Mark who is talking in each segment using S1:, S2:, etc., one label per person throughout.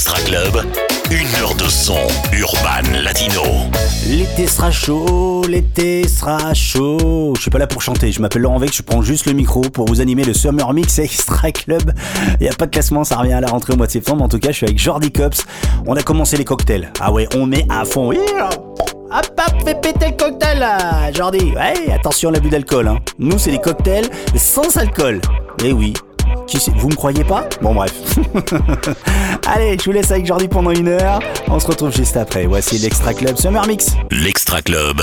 S1: Extra Club, 1 heure de son urban latino.
S2: L'été sera chaud, l'été sera chaud. Je suis pas là pour chanter, je m'appelle Laurent Vec, je prends juste le micro pour vous animer le Summer Mix Extra Club. Il n'y a pas de classement, ça revient à la rentrée au mois de septembre. En tout cas, je suis avec Jordi Cops. On a commencé les cocktails. Ah ouais, on met à fond. Hop hop, fais péter le cocktail là, Jordi. Ouais, attention à l'abus d'alcool, hein. Nous, c'est des cocktails sans alcool. Eh oui. Vous me croyez pas? Bon bref. Allez, je vous laisse avec Jordi pendant 1 heure. On se retrouve juste après. Voici l'Extra Club Summer Mix.
S1: L'Extra Club.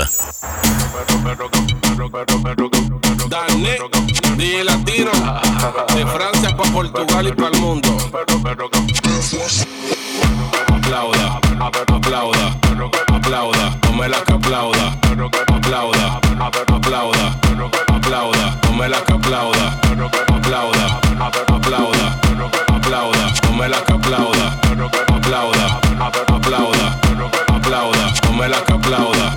S3: Dale, DJ Latino, de Francia pa' Portugal y pa'l mundo. Aplauda, aplauda, aplauda, tome la que aplauda. Aplauda, aplauda, aplauda, tome la que aplauda. Aplauda, aplauda, aplauda, tome la que aplauda. Aplauda, aplauda, aplauda, tome la que aplauda.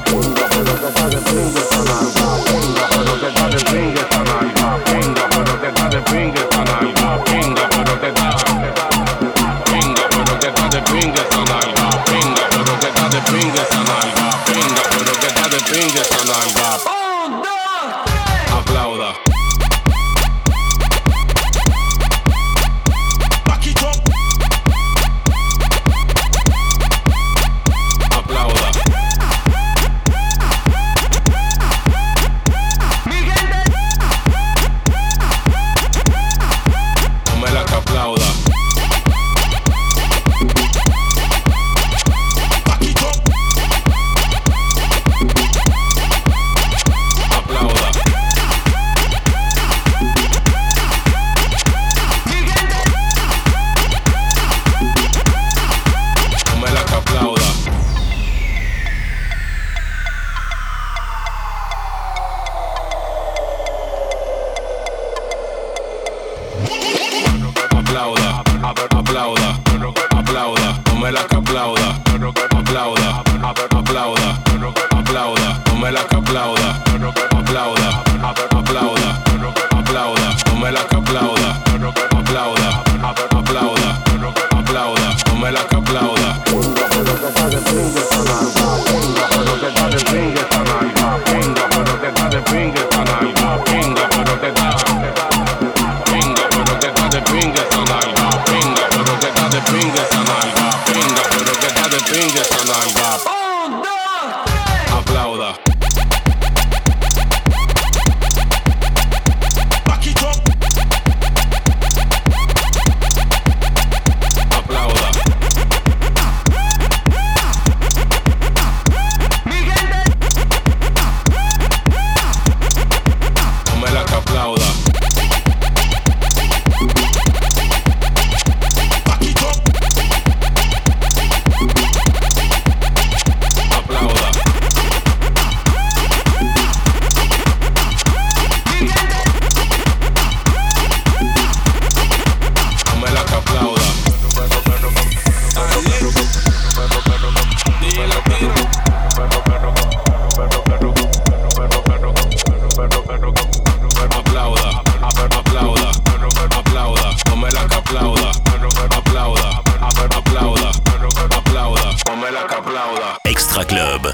S1: Extra Club,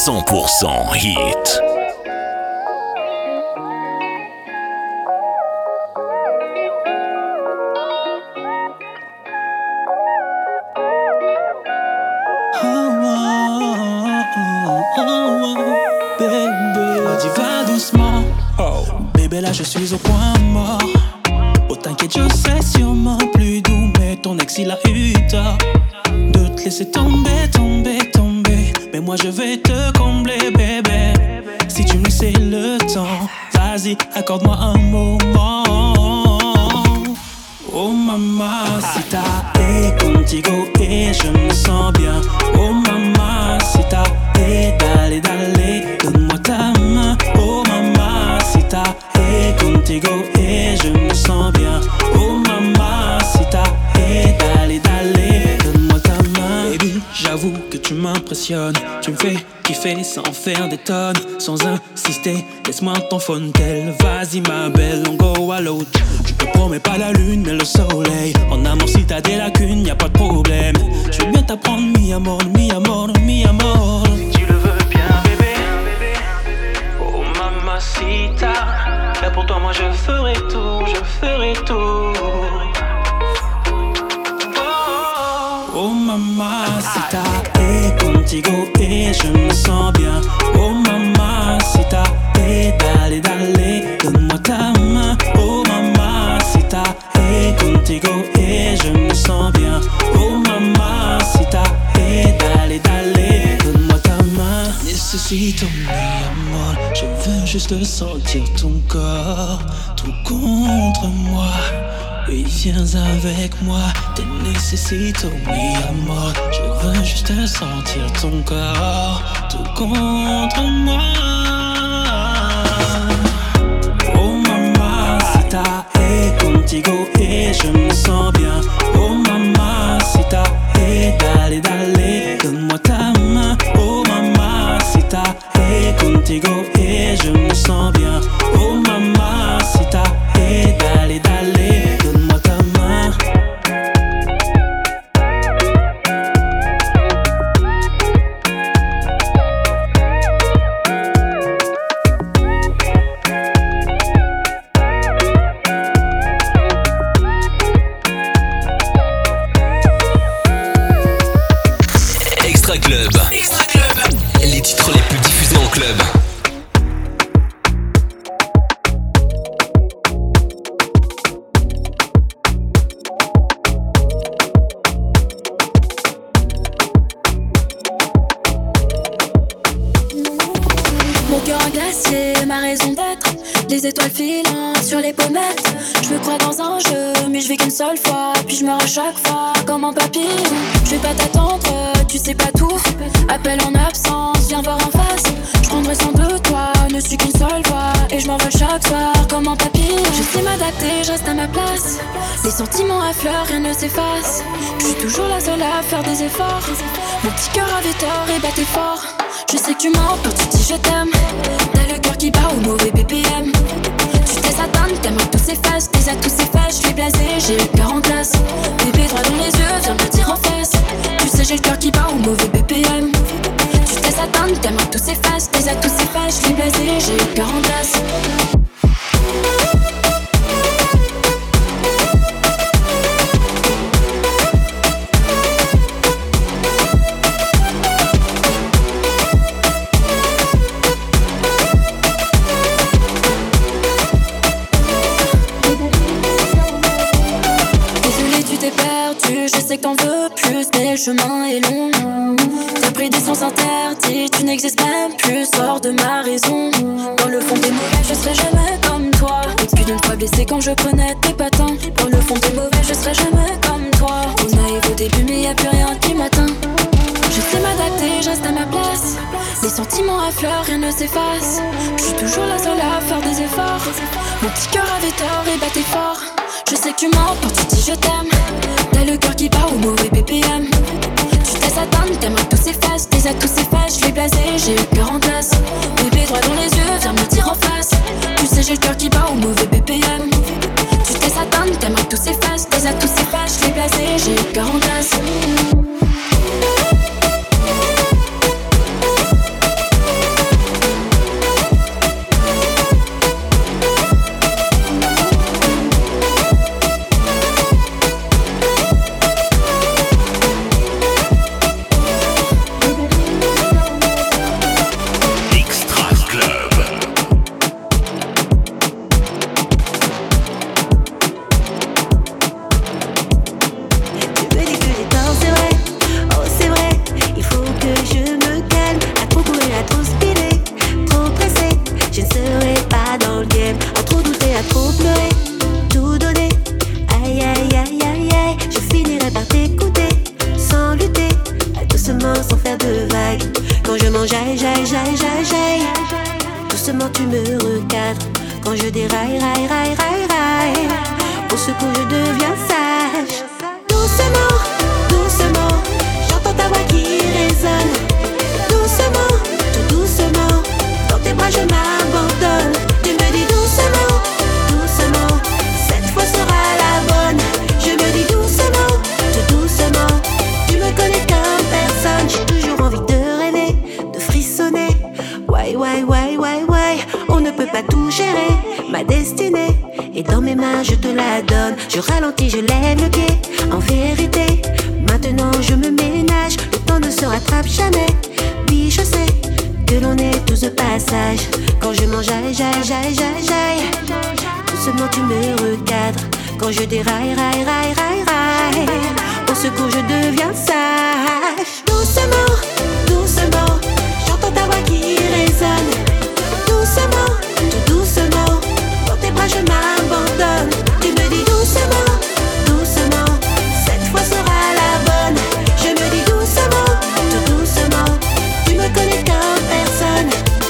S1: 100% hit.
S4: Bébé, là je suis au point mort. Oh t'inquiète, je serai sûrement plus doux, mais ton ex il a eu tort de te laisser tomber, tomber, tomber. Mais moi je vais te combler, bébé. Si tu me laisses le temps, vas-y, accorde-moi un moment. Oh mamacita, et contigo et je me sens bien. Oh mamacita, et dale, dale, donne-moi ta main. Oh mamacita, et contigo et je me sens bien. Oh mamacita, et dale, dale, donne-moi ta main. Baby, j'avoue que tu m'impressionnes. Tu me fais kiffer sans faire des tonnes, sans insister. Laisse-moi ton fontel, vas-y ma belle, on go à l'autre. Je te promets pas la lune mais le soleil. En amour si t'as des lacunes, y'a pas de problème. mi amor, mi amor, mi amor. Si tu le veux bien, bébé. Oh mamacita, là pour toi moi je ferai tout, je ferai tout. Oh mamacita, et contigo et je me sens bien. Oh mamacita, et dale, dale, donne-moi ta main. Oh mamacita, et contigo et je me sens bien. Oh mamacita, et dale, dale, donne-moi ta main. Necesito mi amor, je veux juste sentir ton corps, tout contre moi. Oui, viens avec moi, te necesito mi amor. Je veux juste sentir ton corps, tout contre moi. Oh mamacita, et contigo et je me sens bien. Oh mamacita, et dale, dale, donne-moi ta main. Oh mamacita, et contigo et je me sens bien. Oh mamacita, et dale, dale, donne-moi ta main.
S5: Extra Club. Extra Club. Les titres les plus diffusés en club.
S6: Mon cœur en glacier, ma raison d'être. Les étoiles filantes sur les pommettes. Je me crois dans un jeu, mais je vis qu'une seule fois. Puis je meurs à chaque fois, comme un papillon. Je vais pas t'attendre, tu sais pas tout. Appel en absence, viens voir en face. Je prendrai soin de toi, ne suis qu'une seule voix. Et je m'envole chaque soir, comme un papillon. Je sais m'adapter, je reste à ma place. Les sentiments affleurent, rien ne s'efface. Je suis toujours la seule à faire des efforts. Mon petit cœur avait tort et battait fort. Je sais que tu mens quand tu dis je t'aime. T'as le cœur qui bat au mauvais BPM. Tu t'es atteinte, t'aimerais tous ces faces. Tes atouts s'effacent, je suis blasé, j'ai le cœur en glace. Bébé droit dans les yeux, viens me dire en face. Tu sais j'ai le cœur qui bat au mauvais BPM. Tu t'es atteinte, t'aimerais tous ces faces. Tes atouts s'effacent, je suis blasé, j'ai le cœur en glace. Je sais que t'en veux plus, mais le chemin est long. T'as pris des sens interdits, tu n'existes même plus. Sors de ma raison. Dans le fond des mauvais, je serai jamais comme toi. Plus d'une fois blessé quand je prenais tes patins. Dans le fond des mauvais, je serai jamais comme toi. On arrive au début, mais y a plus rien qui m'atteint. Je sais m'adapter, je reste à ma place. Les sentiments affleurent, rien ne s'efface. Je suis toujours la seule à faire des efforts. Mon petit cœur avait tort et battait fort. Je sais que tu mens quand tu dis je t'aime. T'as le cœur qui bat au mauvais BPM. Tu t'es atteinte, t'aimerais tous ces faces. Tes atouts s'effacent, je suis blasé, j'ai le cœur en glace. Bébé droit dans les yeux, viens me dire en face. Tu sais j'ai le cœur qui bat au mauvais BPM. Tu t'es atteinte, t'aimerais tous ces faces. Tes atouts s'effacent, je suis blasé, j'ai le cœur en glace.
S7: Doucement tu me recadres. Quand je déraille, raille, raille, raille, raille. Au secours je deviens sage. Doucement, doucement, j'entends ta voix qui résonne. Doucement, tout doucement, dans tes bras je m'abandonne. Tu me dis doucement, doucement, cette fois sera la bonne. Je me dis doucement, tout doucement, tu me connais comme personne. mes mains, je te la donne. Je ralentis, je lève le pied. En vérité, maintenant je me ménage. Le temps ne se rattrape jamais. Oui, je sais que l'on est tous de passage. Quand je mange, j'aille. Doucement tu me recadres. Quand je déraille, raille. Au secours, je deviens sage. Doucement, doucement, j'entends ta voix qui résonne. Doucement, tout doucement, dans tes bras je m'abandonne. Tu me dis doucement, doucement, cette fois sera la bonne. Je me dis doucement, tout doucement, tu me connais comme personne.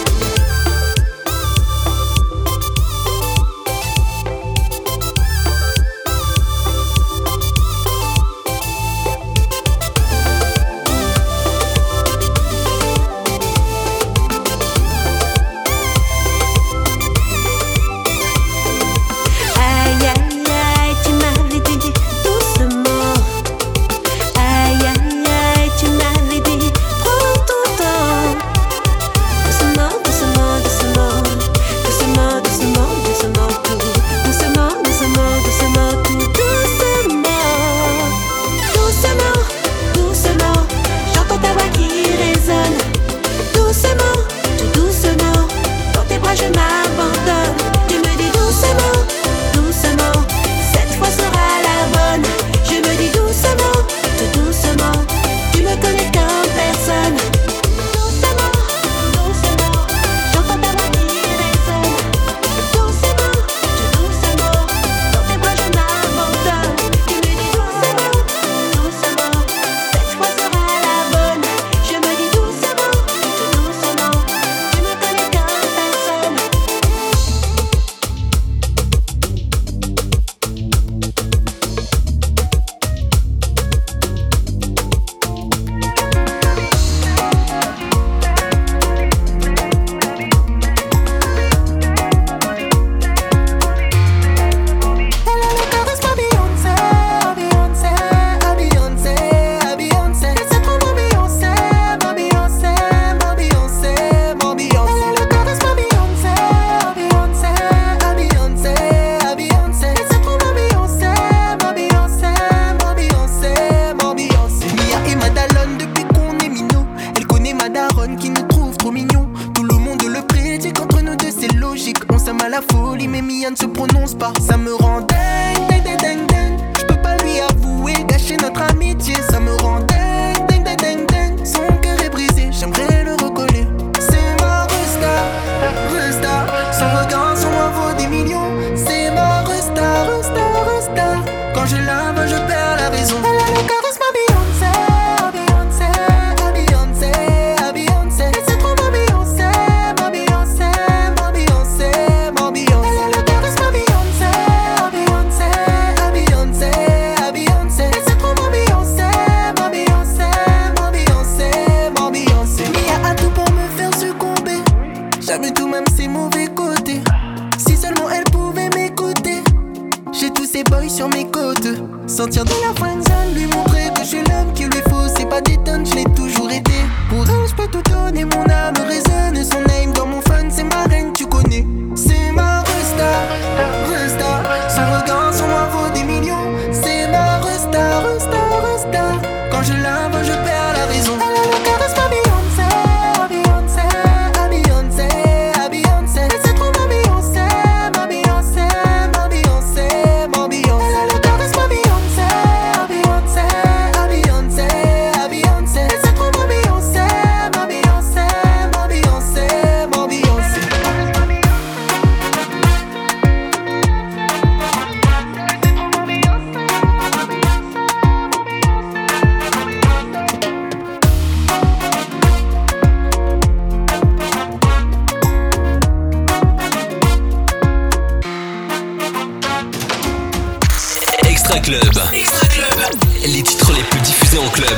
S5: Extra Club. Les titres les plus diffusés en club.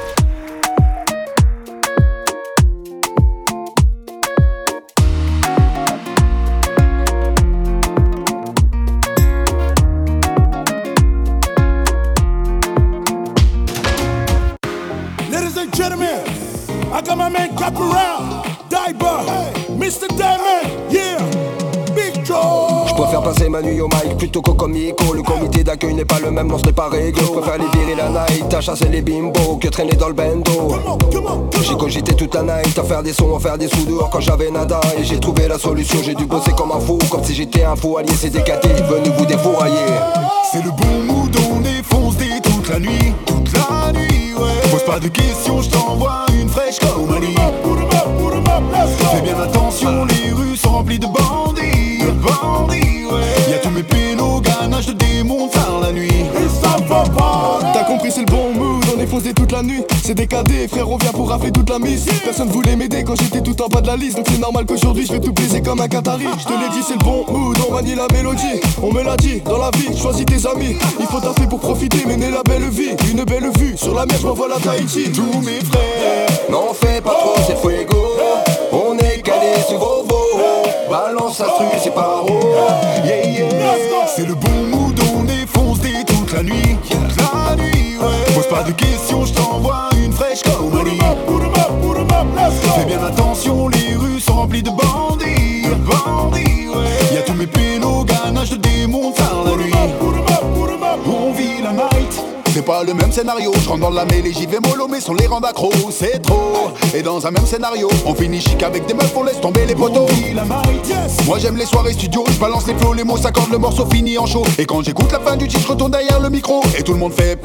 S8: Ladies and gentlemen, I got my man Caporal, Diver, Mr. Diamond, yeah, Big Joe.
S9: préfère passer ma nuit au mic plutôt qu'au comico. Le comité d'accueil n'est pas le même, non ce n'est pas réglo. Je préfère les virer la night, à chasser les bimbos que traîner dans le bendo. J'ai cogité toute la night, à faire des sons, à faire des sous dehors quand j'avais nada. Et j'ai trouvé la solution, j'ai dû bosser comme un fou. Comme si j'étais un fou allié, c'est décadé, venu vous défourailler.
S10: C'est le bon mood, on est foncé toute la nuit. Toute la nuit, ouais. Pose pas de questions, je t'envoie une fraîche comme Ali. Fais bien attention, les rues sont remplies de bandits. Y'a tous mes pélos, ganache de démons tard la nuit. Et ça va pas.
S11: T'as compris, c'est le bon mood, on est posé toute la nuit. C'est décadé, frère, on vient pour rafler toute la mise. Personne voulait m'aider quand j'étais tout en bas de la liste. Donc c'est normal qu'aujourd'hui je vais tout baiser comme un Qatari. Je te l'ai dit, c'est le bon mood, on manie la mélodie. On me l'a dit, dans la vie, choisis tes amis. Il faut taffer pour profiter, mener la belle vie. Une belle vue, sur la mer je m'envole à Tahiti. Tous mes frères,
S9: n'en fais pas trop, c'est fuego. On est calé sur vos veaux. Balance la truie, c'est pas haut.
S10: Yeah, yeah. C'est le bon mood, on est foncé toute la nuit. Toute la nuit, ouais. Pose pas de questions, je t'envoie une fraîche comme Ali. Fais bien attention, les rues sont remplies de bandits. Ouais. Y'a tous mes pélos, ganache de démons tard la nuit. On vit la night. C'est pas le même scénario, je rentre dans la mêlée, j'y vais mollo, mais sans les rendre accro, c'est trop. Et dans un même scénario, on finit chic avec des meufs, on laisse tomber les poteaux. Moi j'aime les soirées studio, je balance les flots, les mots s'accordent, le morceau finit en chaud. Et quand j'écoute la fin du titre, je retourne derrière le micro, et tout le monde fait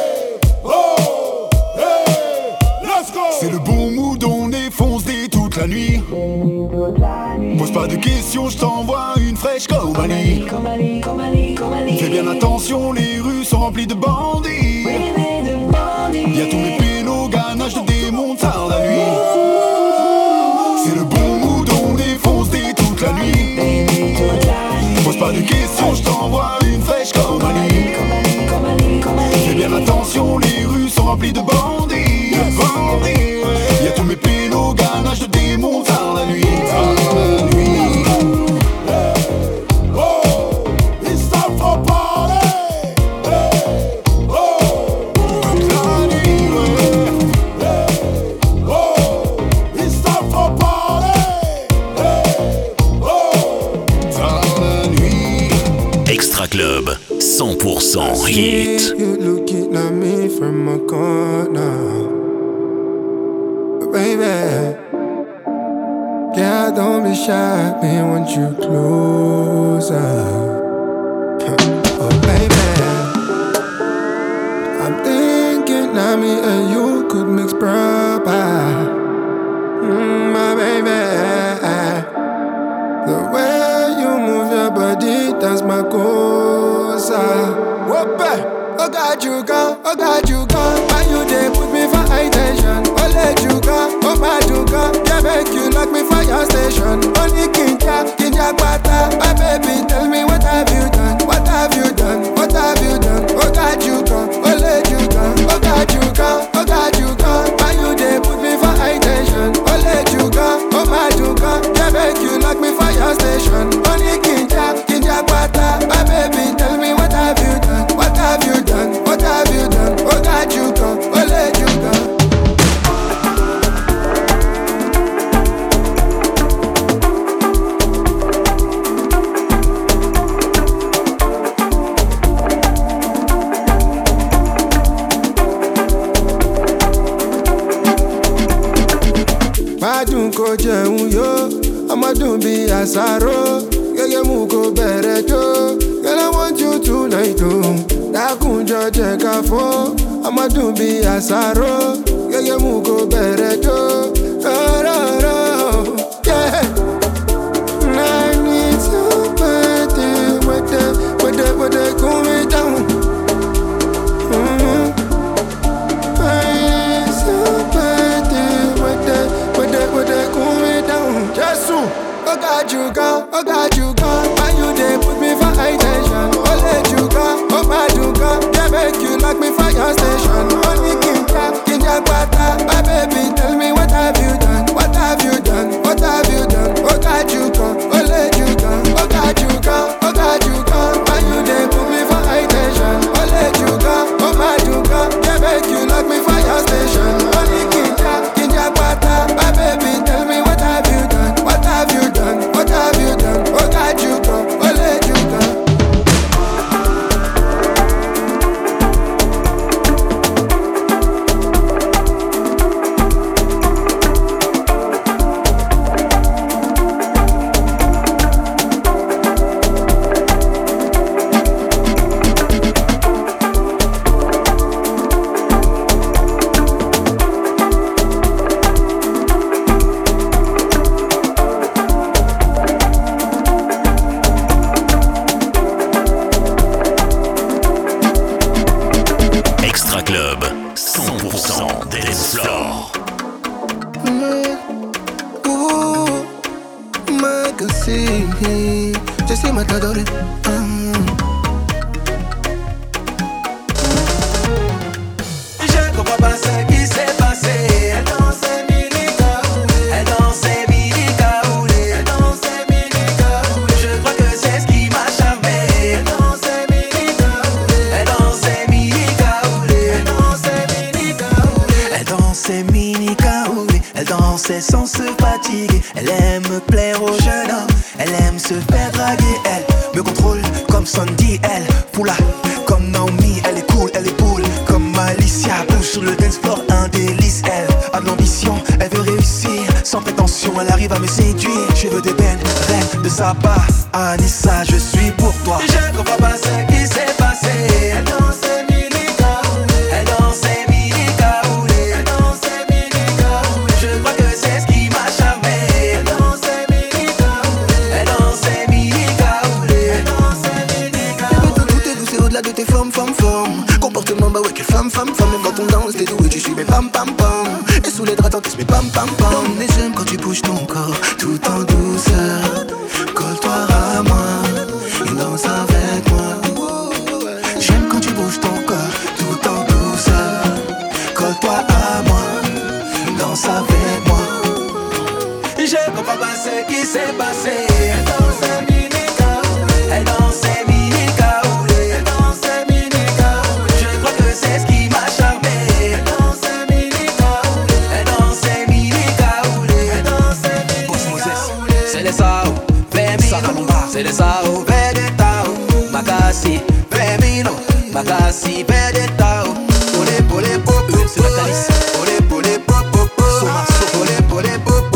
S10: c'est le bon mood, on est foncé toute la nuit. Pose pas de questions, je t'envoie une fraîche comme Ali. Fais bien attention, les rues sont remplies de bandits. Y'a tous mes pélos, ganache de démons tard la nuit. C'est le bon mood, on est foncé toute la nuit. Pose pas de questions, je t'envoie une fraîche comme Ali. Fais bien attention, les rues sont remplies de bandits. Y'a tous mes pélos, ganache de démons tard la nuit.
S1: Extra Club, 100% hit.
S12: You looking at me from a corner, baby. Yeah, don't be shy, me want you closer. Oh, baby. I'm thinking that me and you could mix proper. My baby. The way you move your body, that's my cosa. Whoop, oh God, you go, oh God, you go. Why you there put me for high tension? Oh, let you go, oh, bad you go. Yeah, make you lock me for your station. Only Kinja Kwata. My baby, tell me what have you done? What have you done? What have you done? Oh God, you go, oh, let you go. Oh God, you go, oh God, you go. Why you there put me for high tension? Oh, let you go, oh, bad you go. Yeah, make you lock me for your station. Only Kinja Kwata. My baby, tell me what have you done? What have you done? What have you done? Oh God, you go, oh let you go. Madun ko jẹun yo, ọmọdún bí àsáró, gẹ́gẹ́ mú kó bẹ̀rẹ̀ jó. Girl, I want you tonight, oh. Dákunjọ jẹ́ ká fọ́, ọmọdún bí àsáró, gẹ́gẹ́ mú kó bẹ̀rẹ̀ jó. Yeah. I need somebody with the cool me down. I need somebody with the cool me down. Jesus, oh God, you go, oh God, you go. Why you there put me for high tension? Oh, let you go, oh, bad you go. Yeah, make you lock me for your station. Only Kinja Kwata. My baby, tell me what have you done? What
S1: Club, 100% dance floor.
S12: Sí, je sais m'adorer.
S4: Je comprends pas ce qui s'est passé. Elle dansait mini caoulé. Elle dansait mini caoulé. Elle dansait mini caoulé. Je crois que c'est ce qui m'a charmé. Elle dansait mini caoulé. Elle dansait mini caoulé. Elle dansait mini caoulé. Elle dansait mini caoulé. Elle dansait sans se fatiguer. Elle aime plaire aux jeunes hommes. Elle aime se faire draguer, elle me contrôle comme Sandy, elle Poula comme Naomi, elle est cool, elle est cool comme Alicia. Bouge sur le dance floor, un délice, elle a de l'ambition, elle veut réussir sans prétention, elle arrive à me séduire. Cheveux d'ébène, reine de Saba, Anissa, je suis pour toi. Je comprends pas ce qui s'est passé. Elle dansait mini caoulé. Elle dansait mini caoulé. Elle dansait mini caoulé. Je crois que c'est ce qui m'a charmé.
S12: De tes formes, comportement, bah ouais, quelle femme, même quand on danse, t'es doué, tu suis mes pam pam pam. Et sous les draps, t'encaisses mes pam pam pam. Et j'aime quand tu bouges ton corps, tout en douceur. Colle-toi à moi, et danse avec moi. J'aime quand tu bouges ton corps, tout en douceur. Colle-toi à moi, danse avec moi.
S4: Je comprends pas ce qui s'est passé. Elle dansait mini caoulé. Elle dansait mini caoulé. Elle dansait mini caoulé. Je crois que c'est ce qui m'a charmé. Elle dansait mini caoulé. Elle dansait mini caoulé. Elle dansait mini caoulé. C'est les sao, Femino. C'est les sao, Vedetao. Makasi, Femino. Makasi, Vedetao. Pole, pole, popo. C'est la calice. Pole, pole, popo. Somaso, pole, pole, popo.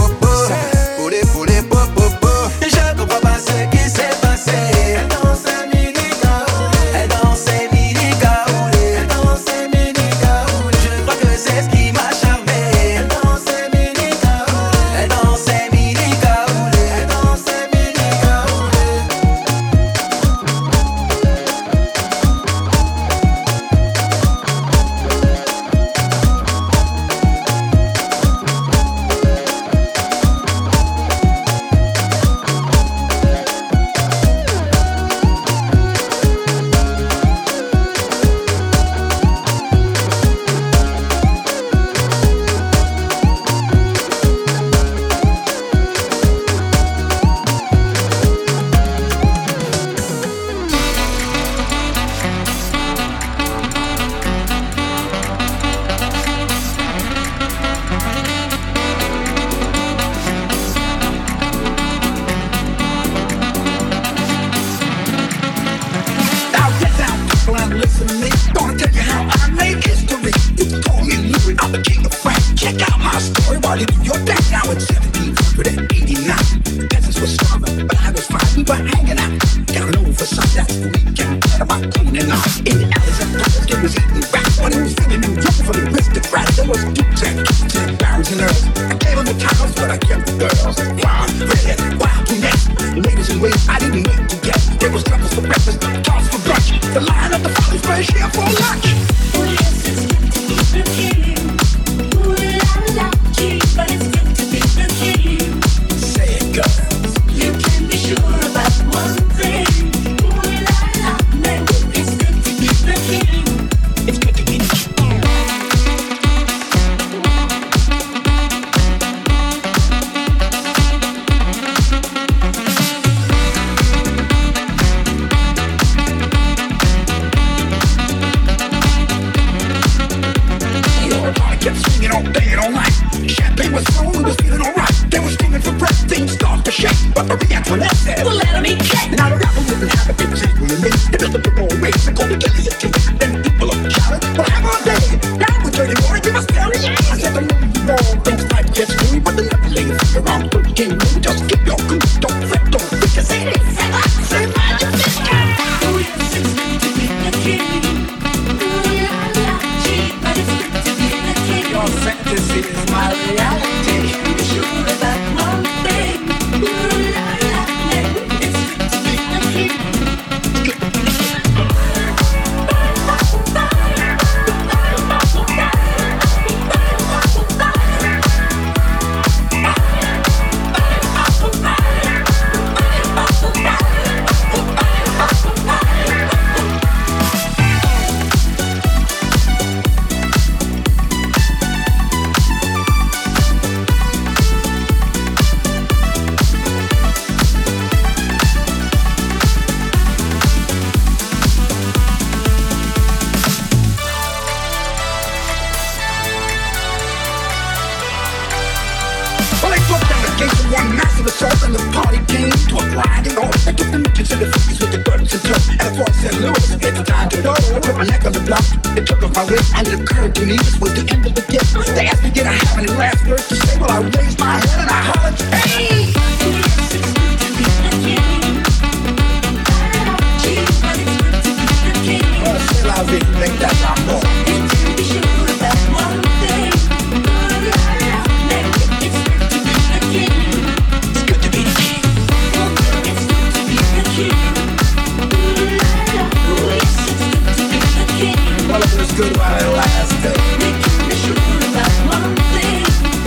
S4: Je comprends pas ce qui s'est passé. Elle dansait mini caoulé. Elle dansait mini caoulé. Elle dansait mini caoulé. Je crois que c'est ce qui m'a charmé. Elle dansait mini caoulé. Elle dansait mini caoulé. Elle dansait mini caoulé.
S13: master the soul and the party came to a grinding on. I took the mission to the 50s with the burdens and tough. And I St. Louis, it's time to know. I put my neck on the block, it took off my wrist, and it occurred to me this was the end of the gift. They asked me did I have any last words to say. Well, I raised my head and I hollered, hey! I really think that's our goal. Be sure that one thing. It's good to be the king. It's good to be the king. Yes, it's good to be the king. Well, it was good while it lasted. Be sure that one thing.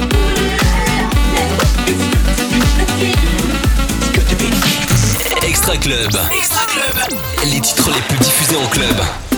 S13: It's good to be the king. It's good to be the king.
S5: Extra Club. Extra Club. Les titres les plus diffusés en club.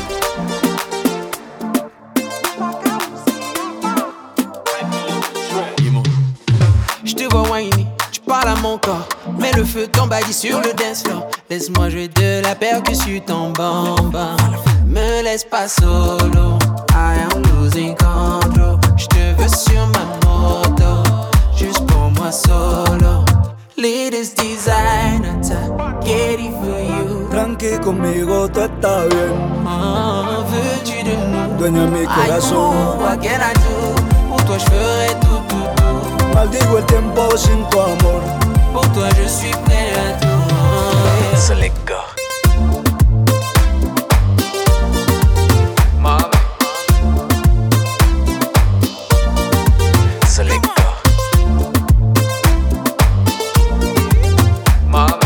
S14: Mets le feu, t'embadis sur le dance floor. Laisse-moi jouer de la percussion, ton bamba. Me laisse pas solo, I am losing control. J'te veux sur ma moto, juste pour moi solo. Latest designer, get it for you.
S15: Tranqui conmigo, tú estás bien.
S14: Veux-tu de nous?
S15: Dueña mi corazón.
S14: What can I do? Pour toi je ferai tout, tout, tout.
S15: Maldigo el tiempo sin tu amor.
S14: Pour toi je suis prêt à tout.
S5: So let go. Mama. So let go. Mama.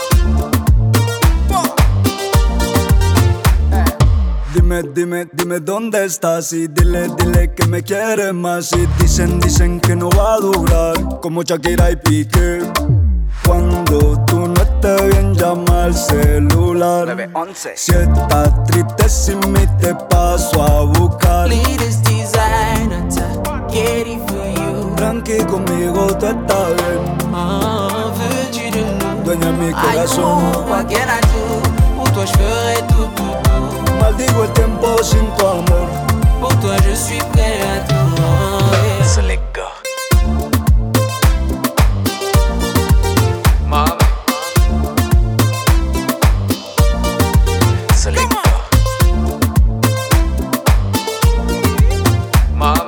S15: Dime dónde estás y dile que me quieres más. Y dicen que no va a durar como Shakira y Piqué. Cuando tú no estés bien, llama al celular. 911. Si estás triste sin mí, te paso a buscar.
S14: Latest designer, get it for you.
S15: Tranqui conmigo, tú estás bien.
S14: Veux-tu de nous?
S15: Dueña mi corazón.
S14: What can I do? Pour toi je ferai tout, tout, tout.
S15: Maldigo el tiempo sin tu amor.
S14: Pour toi je suis prêt à tout.
S5: So let go. Mama. So let go. Mama.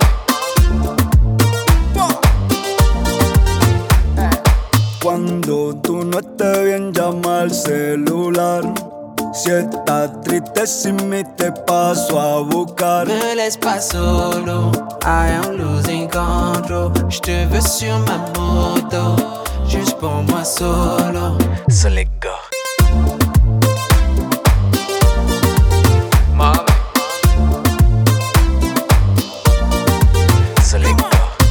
S15: Cuando tú no estés bien, llama al celular. Si estás triste sin mí, te paso a buscar.
S14: Me laisse pas solo, I am losing control. J'te veux sur ma moto, juste pour moi solo.
S5: So let go. Mama. So let go.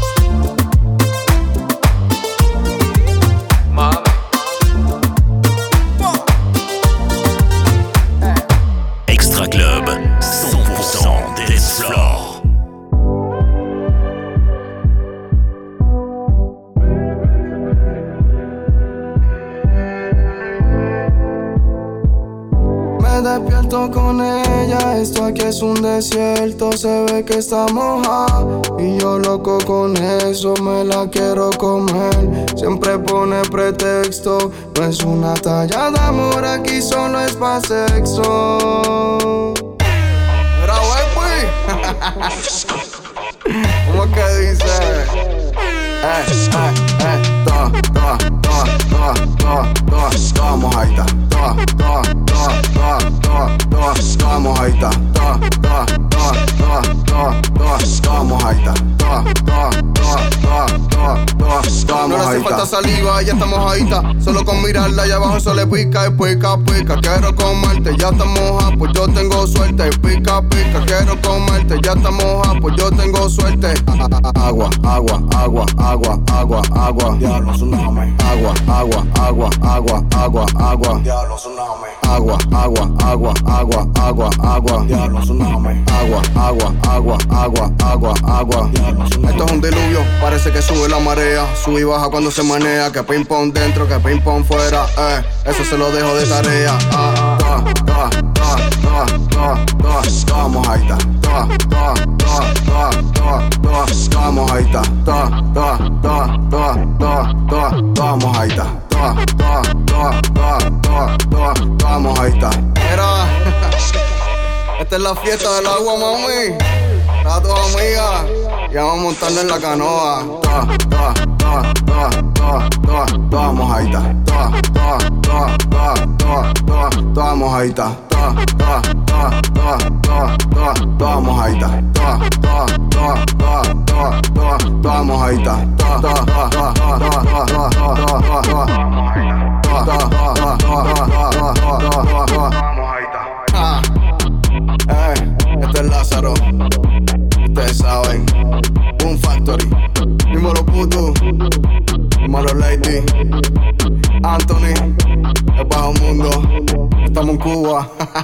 S5: Mama.
S1: Extra Club, 100% dance floor.
S11: Me despierto con ella, esto aquí es un desierto, se ve que está mojada y yo loco con eso, me la quiero comer. Siempre pone pretexto, no es una talla de amor, aquí solo es pa' sexo. Mira, wey, ¿cómo es que dice? Toda mojadita, toda mojadita, no le hace falta saliva, ya está mojadita. Solo con mirarla allá abajo se le pica y pica, pica. Quiero comerte, ya está moja, pues yo tengo suerte. Pica, pica, quiero comerte, ya está moja, pues yo tengo suerte. Agua, agua, agua, agua, agua, agua. Diablo, tsunami. Agua, agua, agua, agua, agua, agua. Diablo, tsunami. Agua, agua, agua, agua, agua, agua. Diablo, tsunami. Agua, agua, agua, agua, agua, agua. Diablo, tsunami. Esto es un diluvio, parece que sube la marea. Sube y baja cuando se manea. Que ping pong dentro, que ping pong fuera. Eso se lo dejo de tarea. Toda mojadita. Toda mojadita. Toda
S16: la fiesta del agua, mami. A tus amigas, ya vamos montando en la canoa. Toda mojadita. Toda mojadita. Toda mojadita. Toda mojadita. Este es Lázaro, ustedes saben. Boom Factory, dímelo puto, dímelo Lady, Anthony, el bajo mundo, estamos en Cuba.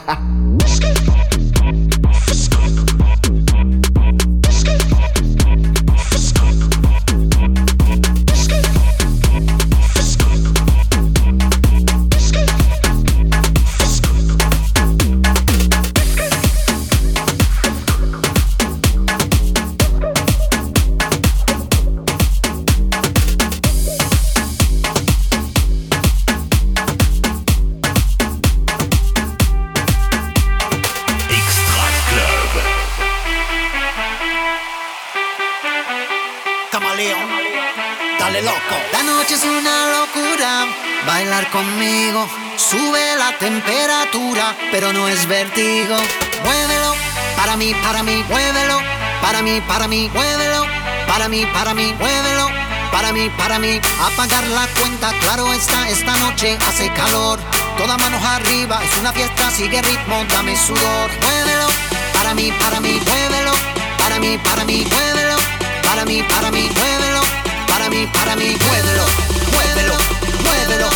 S17: Bailar conmigo sube la temperatura, pero no es vértigo. Muévelo, para mí, muévelo. Para mí, muévelo. Para mí, muévelo. Para mí, apagar la cuenta, claro está, esta noche hace calor. Todas manos arriba, es una fiesta, sigue ritmo, dame sudor. Muévelo, para mí, muévelo. Para mí, muévelo. Para mí, muévelo. Para mí, muévelo. Muévelo,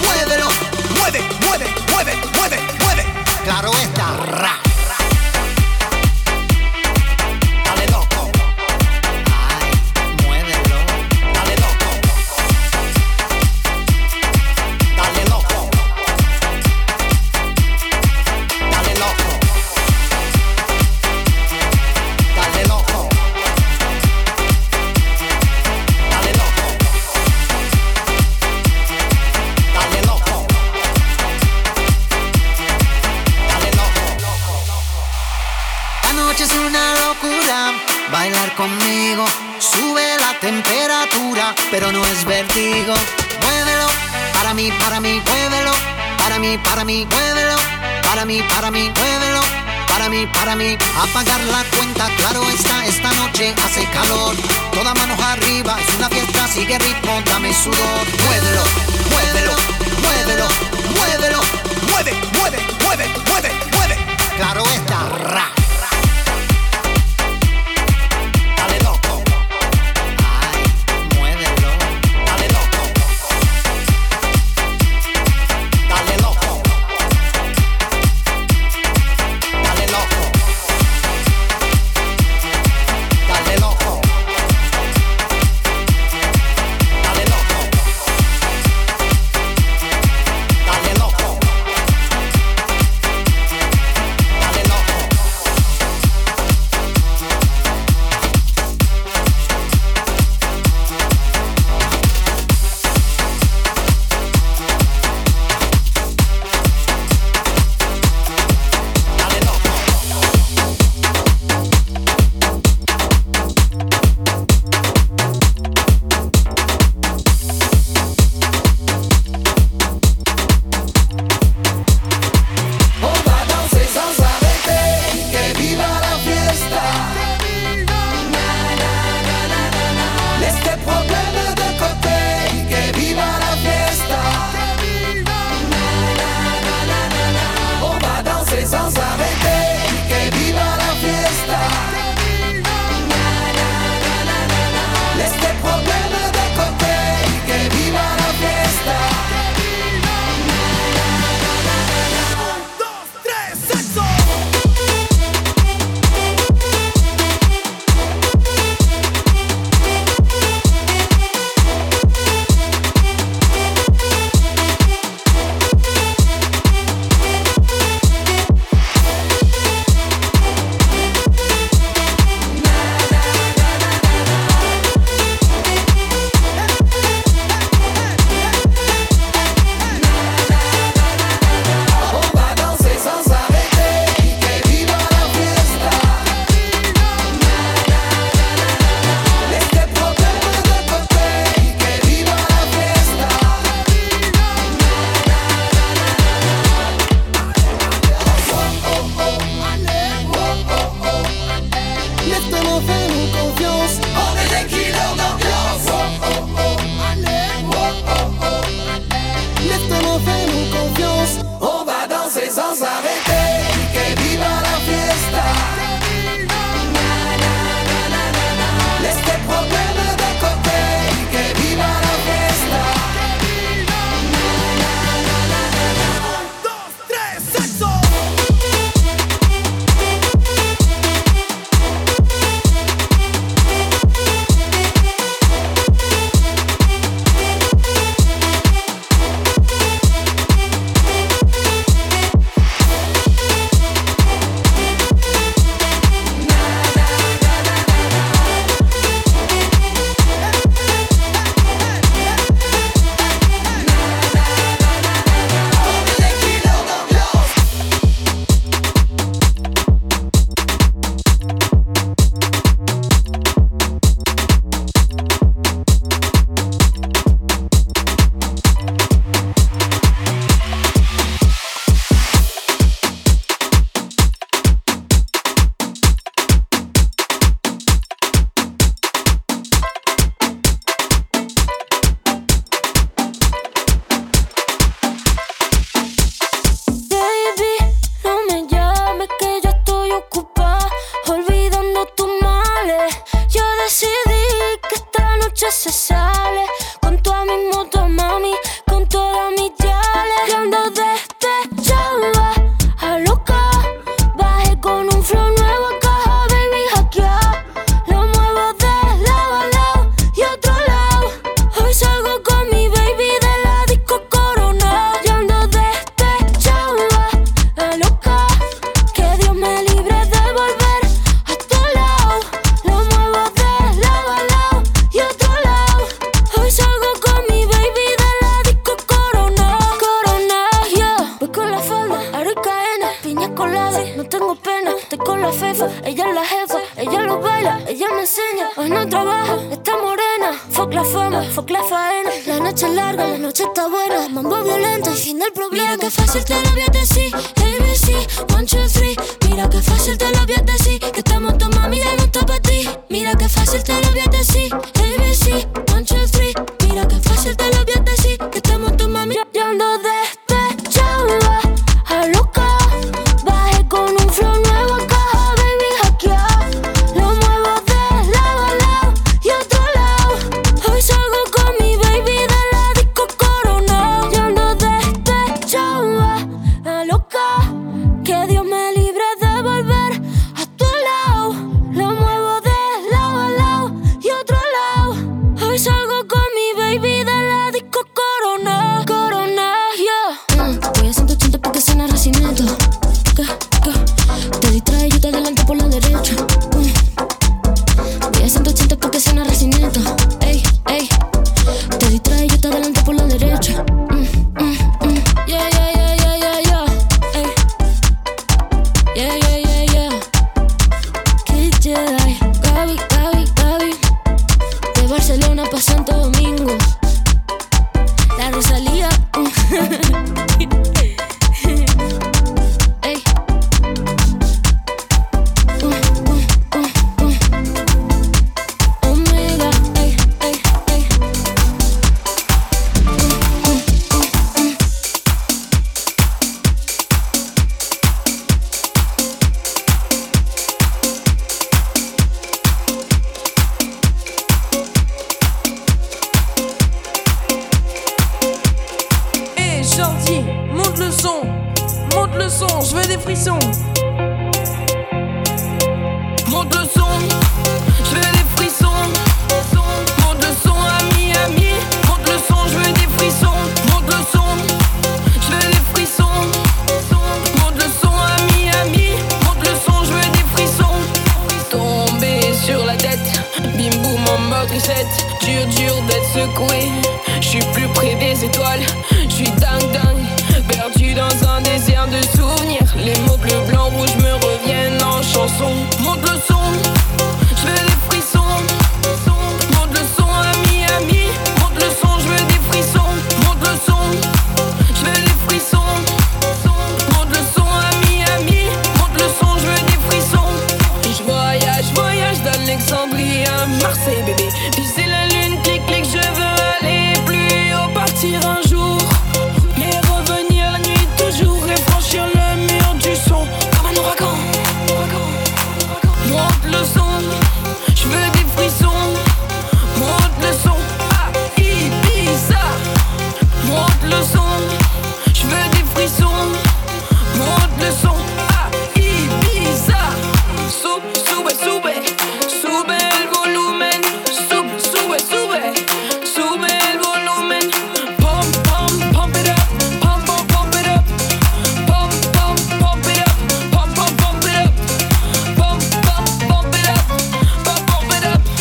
S17: mueve. Claro está, ra. Dale loco. Ay, muévelo. Dale loco. Dale loco. Dale loco. Dale loco. Dale loco. Es una locura bailar conmigo, sube la temperatura, pero no es vértigo. Muévelo, para mí, muévelo. Para mí, muévelo. Para mí, muévelo. Para mí, apagar la cuenta, claro está, esta noche hace calor. Todas manos arriba, es una fiesta, sigue ritmo, dame sudor. Muévelo. Mueve. Claro está, ra.
S18: fais-nous confiance.
S13: On est des killers d'ambiance.
S18: Laisse-moi fais-nous confiance.
S13: On va danser sans s'arrêter. Que viva la fiesta. Laisse tes problèmes de côté. Que viva la fiesta.
S18: 1, 2, 3, sexo.
S19: Dur d'être secoué. Je suis plus près des étoiles. Je suis dingue, perdu dans un désert de souvenirs. Les mots bleu, blanc, rouge me reviennent en chanson. Monte le son, je veux des frissons. Monte le son, ami. Monte le son, je veux des frissons. Monte le son, je veux des frissons. Monte le son, ami. Monte le son, je veux des frissons. Je voyage dans l'exil. Marseille, bébé. Viser la lune, clic, clic, je veux aller plus haut, partir un jour. Mais revenir la nuit toujours et franchir le mur du son. Comme un ouragan. Monte le son, je veux des frissons. Monte le son, à Ibiza. Monte le son, je veux des frissons. Monte le son, à Ibiza. Sube, sube, sube el volumen. Sube, sube, sube, sube el volumen. Pump, pump, pump it up. Pump, pump, pump it up. Pump, pump, pump it up. Pump, pump, pump it up. Pump, pump, pump it up. Pump, pump it up.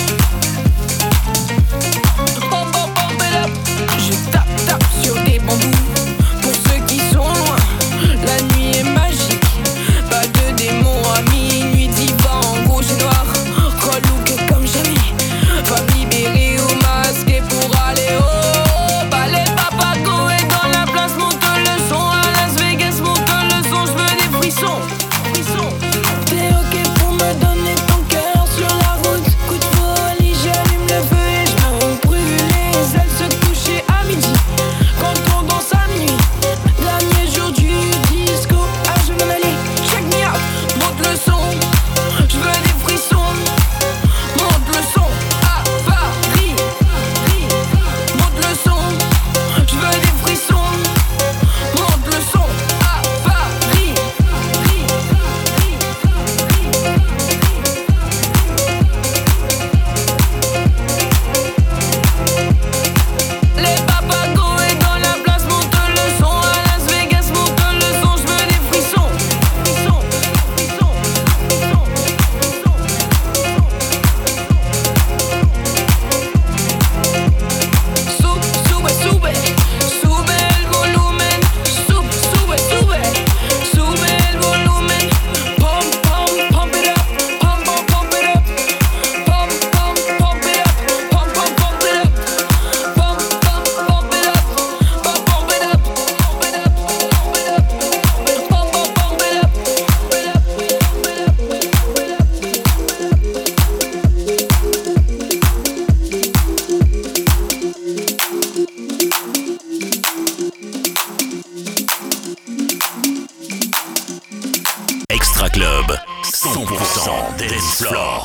S19: Pump, pump, pump it up. Je tape sur des bambous. Pour ceux qui sont loin, la nuit est magique. Pas de démons à minuit, diva en rouge et noir. Relook comme jamais. Femme libérée ou masquée pour aller au ballet. Papago est dans la place, monte le son. À Las Vegas, monte le son. Je veux des frissons. T'es ok pour me donner ton cœur sur la route. Coup de folie, j'allume le feu et je me brûle les ailes. Se coucher à midi quand on danse à minuit. Dernier jour du disco, ah je veux m'en aller. Check me out, monte le son. Je veux des frissons. Monte le son à Paris. Monte le son. Je veux des frissons. Monte le son à Paris. Les papagos est dans la place, monte le son. À Las Vegas, monte le son. Je veux des frissons. Sube, sube el volumen. Sube, sube el volumen. Pump, pump, pump it up. Pump, pump, pump it up. Pump, pump, pump it up. Pump, pump, pump it up. Pump, pump, pump it up. Pump, pump it up. Pump, pump, pump it up.
S1: Extra Club, 100% dance floor.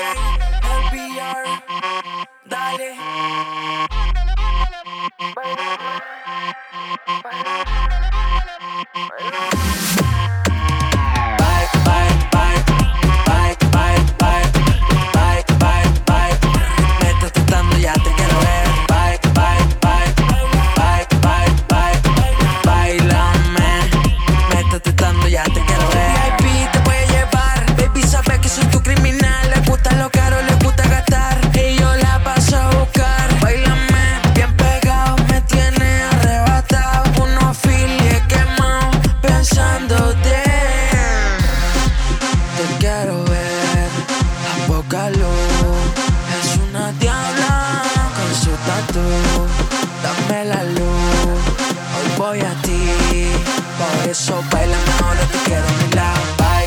S14: Métete tanto, ya te quiero ver. Bailame. Métete tanto, ya te quiero ver. VIP te voy a llevar. Baby, sabes que soy tu criminal. Le gusta lo caro, le gusta gastar. Y yo la paso a buscar. Bailame, bien pegado, me tiene arrebatado. Unos files quemados, pensándote. Te quiero ver, a poca luz. Es una diabla con su tatu. Dame la luz, hoy voy a ti. Por eso bailame ahora, te quiero a mi lado.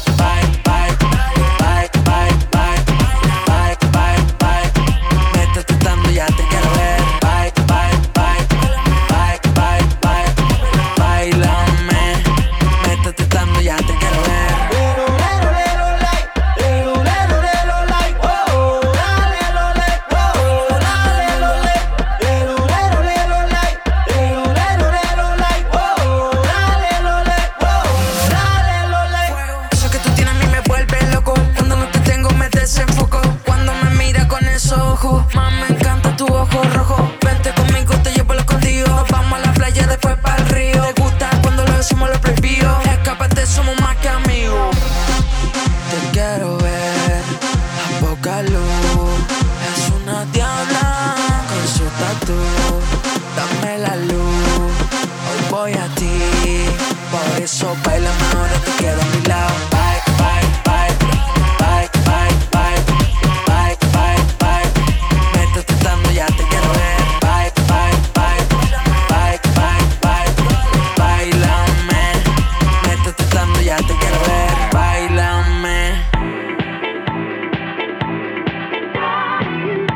S14: Métete tanto, ya te quiero ver. Bailame. Métete tanto, ya te quiero ver. Eso que tú tienes a mí me vuelve loco. Cuando no te tengo me desenfoco. Cuando me mira con esos ojos, más me encanta tu ojo rojo. Vente conmigo, te llevo lo escondido. Nos vamos a la playa, después para el río. Te gusta cuando lo decimos lo prohibido. Escápate, somos más que amigos. Te quiero ver a poca luz. Es una diabla con su tatu. Dame la luz, hoy voy a ti. Por eso bailame ahora, te quiero a mi lado. Métete tanto, ya te quiero ver. Bailame. Métete tanto, ya te quiero ver. Bailame.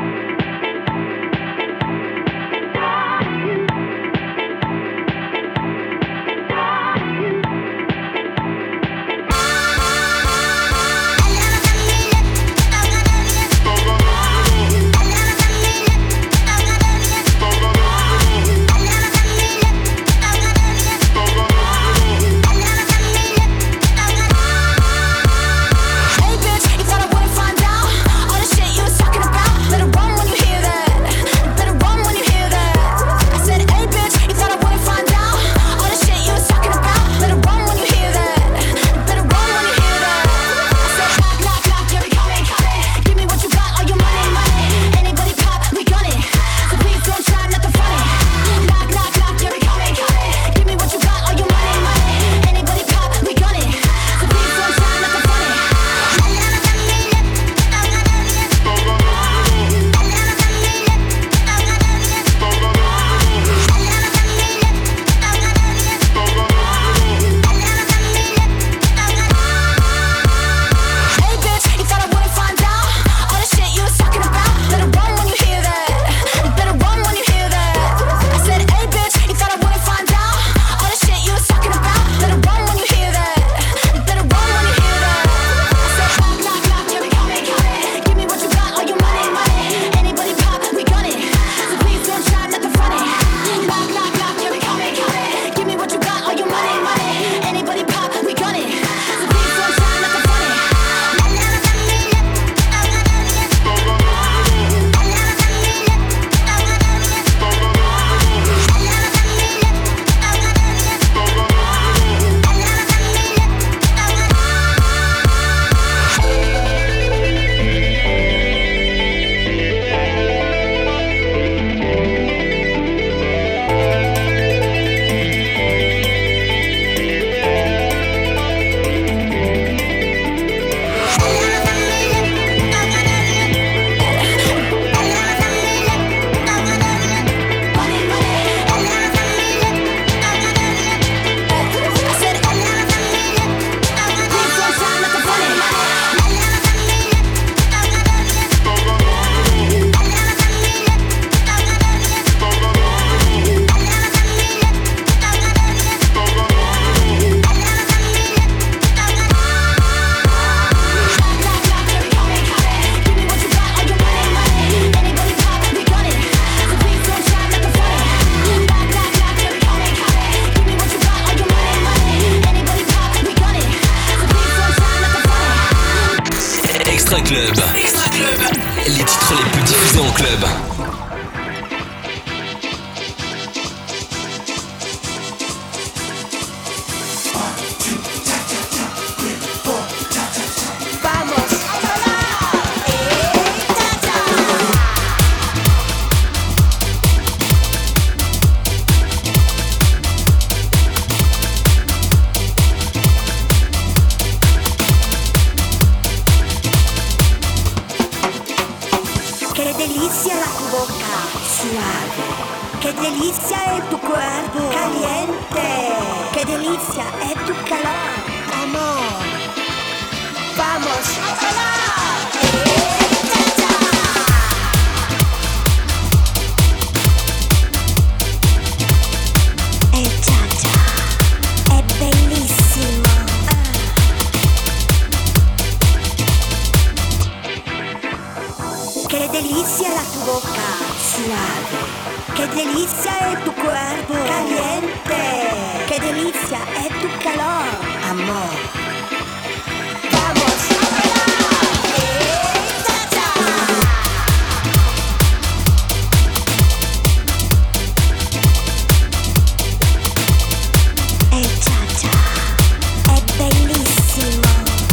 S5: Les titres les plus diffusés en club.
S7: Qué delicia es tu cuerpo caliente. Qué delicia es tu calor, amor. Vamos a bailar. Cha-cha è bellissimo. Qué delicia la tu boca suave. Qué delicia es tu cuerpo caliente. Qué delicia es tu calor, amor. Vamos a bailar. Cha-cha. Cha-cha è bellissimo.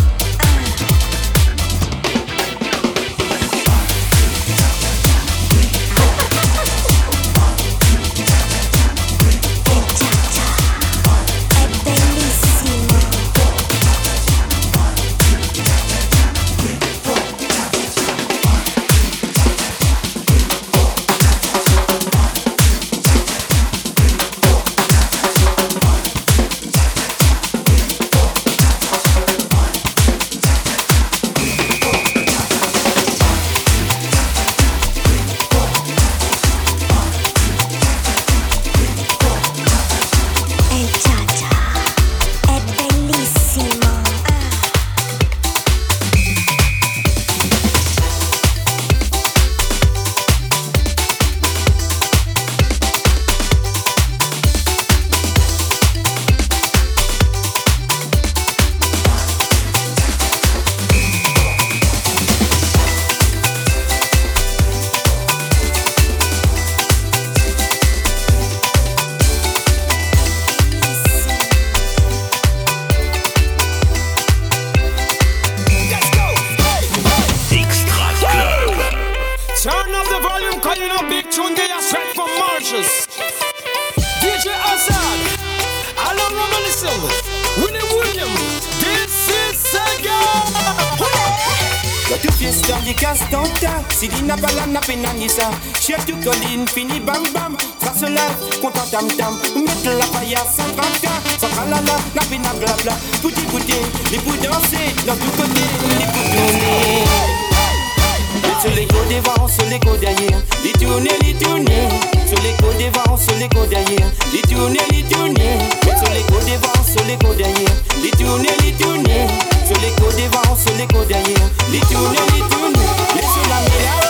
S20: Chef du colline, fini bam bam. Trace la, content tam tam. Mettre la paillasse sans tracas. Sans tralala, napina blabla. Pouti pouti, les bouts danser. Dans tout côté, les bouts tourner. Sur les côtes devant, sur les côtes derrière. Les tourner, les tourner. Sur les côtes devant, sur les côtes derrière. Les tourner, les tourner. Sur les côtes devant, sur les côtes derrière. Les tourner, les tourner. Sur les côtes devant, sur les côtes derrière. Les tourner, les tourner. Laissez la méla.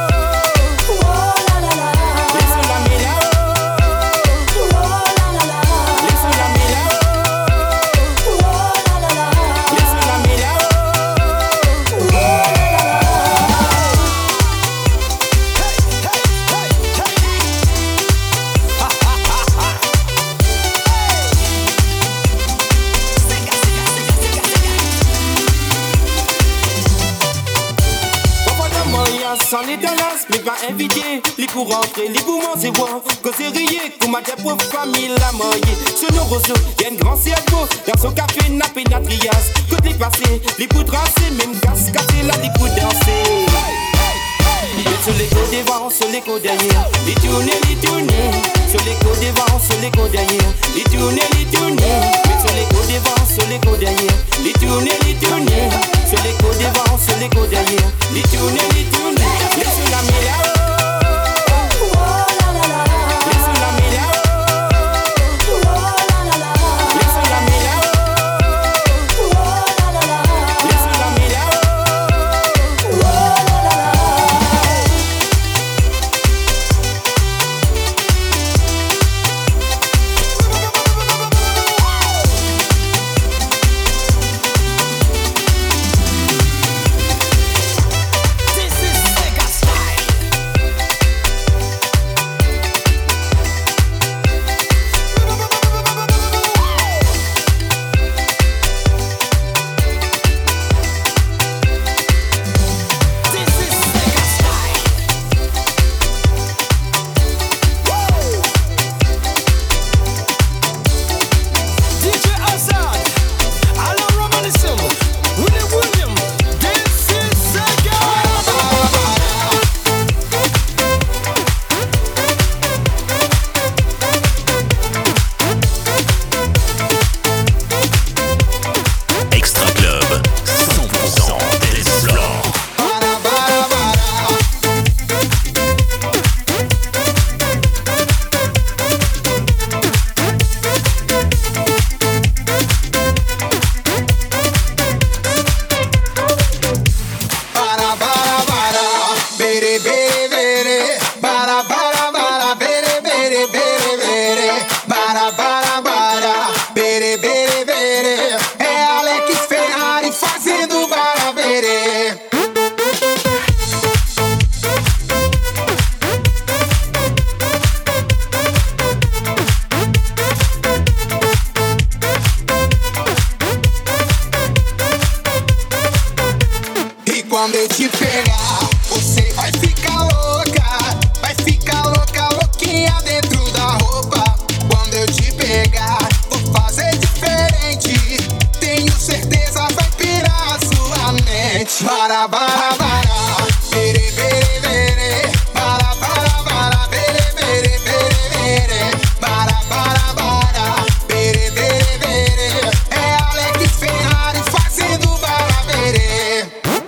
S20: Sans les dollars, mais pas invité. Les pour rentrer, les pour manger, voir. Que c'est rié, qu'on m'a dit pour famille la moyenne. Ce nos roseaux, y'a un grand cerveau. Dans son café, n'a pénatrias. Côté passé, les pour tracer, même casse, casser là, les pour danser. Sur les côtes devant, sur les côtes derrière. Les tourner, les tourner. Sur les côtes devant, sur les côtes derrière. Les tourner, les tourner. Sur les côtes devant, sur les côtes derrière. Les tourner, les tourner. Sur les côtes devant, sur les côtes derrière. Les tourner, les tourner. Laissez la méla. Laissez la méla. Laissez la méla. Laissez la méla.
S18: This is
S13: bere bere bere, bara bara bara, bere bere bere bere, bara bara bara, bere bere bere. É Alex Ferrari fazendo bara bere. E quando eu te pegar, você vai ficar louca, louquinha dentro da roupa. Quando eu te pegar, vou fazer diferente. Tenho certeza vai pirar a sua mente. Bara, bara, bara, bere, bere, bere. Bara, bara, bara, bere, bere, bere, bere. Bara, bara, bara, bere, bere, bere. É Alex Ferrari fazendo bara, bere.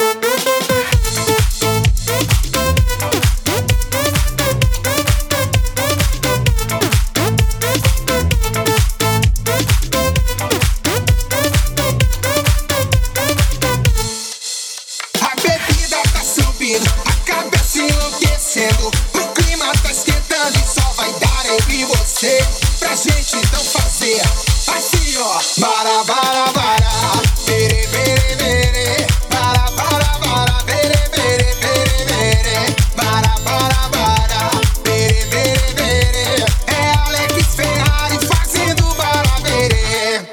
S13: A bebida tá subindo, a cabeça enlouquecendo. O clima tá esquentando e só vai dar eu e você. Pra gente então fazer assim, ó. Bara, bara, bara, bere, bere, bere. Bara, bara, bara, bere, bere, bere, bere. Bara, bara, bara, bere, bere, bere. É Alex Ferrari fazendo bara, bere.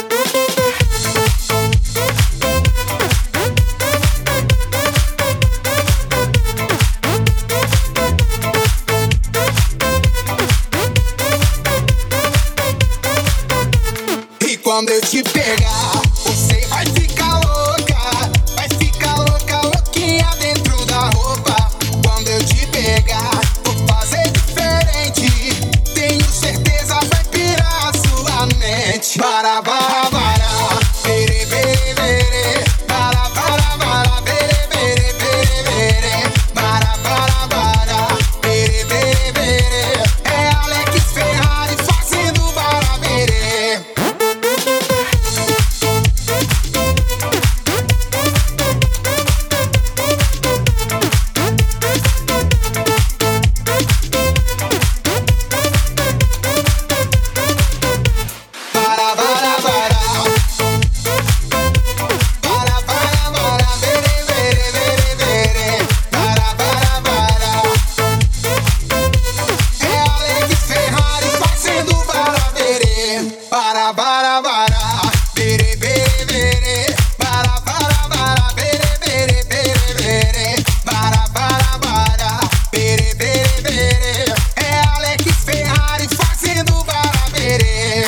S13: E quando eu te pegar, você vai ficar louca, louquinha dentro da roupa. Quando eu te pegar, vou fazer diferente. Tenho certeza vai pirar a sua mente. Bara, bara, bara, bere, bere, bere. Bara, bara, bara, bere, bere, bere, bere. Bara, bara, bara, bere, bere, bere. É Alex Ferrari fazendo bara, bere. Bara, bara, bara. Bara, bara, bara, bere, bere, bere, bere. Bara, bara, bara. É Alex Ferrari fazendo bara, bere. Bara, bara, bara, bere, bere, bere. Bara, bara, bara, bere, bere, bere, bere. Bara, bara, bara, bere, bere, bere. É Alex Ferrari fazendo bara, bere.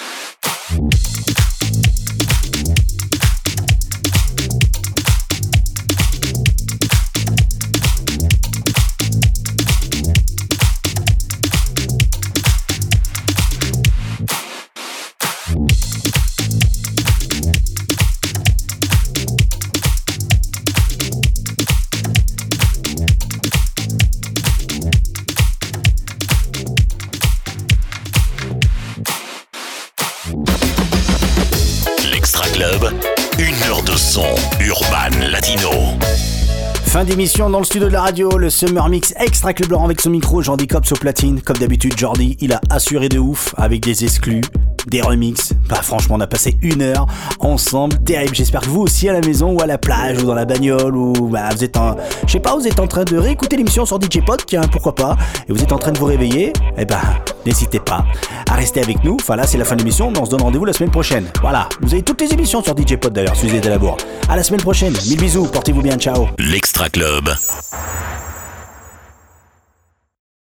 S1: L'Extra Club, 1 heure de son urban latino.
S2: Fin d'émission dans le studio de la radio, le Summer Mix Extra Club Laurent avec son micro, Jordi Cops au platine. Comme d'habitude, Jordi, il a assuré de ouf avec des exclus, des remixes. Bah franchement, on a passé 1 heure ensemble, terrible. J'espère que vous aussi à la maison ou à la plage ou dans la bagnole ou bah vous êtes je sais pas, vous êtes en train de réécouter l'émission sur DJ Pod, tiens, pourquoi pas. Et vous êtes en train de vous réveiller, eh ben n'hésitez pas à rester avec nous. Enfin là, c'est la fin de l'émission, mais on se donne rendez-vous la semaine prochaine. Voilà, vous avez toutes les émissions sur DJ Pod d'ailleurs, si vous êtes à la bourre. À la semaine prochaine, 1000 bisous, portez-vous bien, ciao.
S1: L'Extra Club.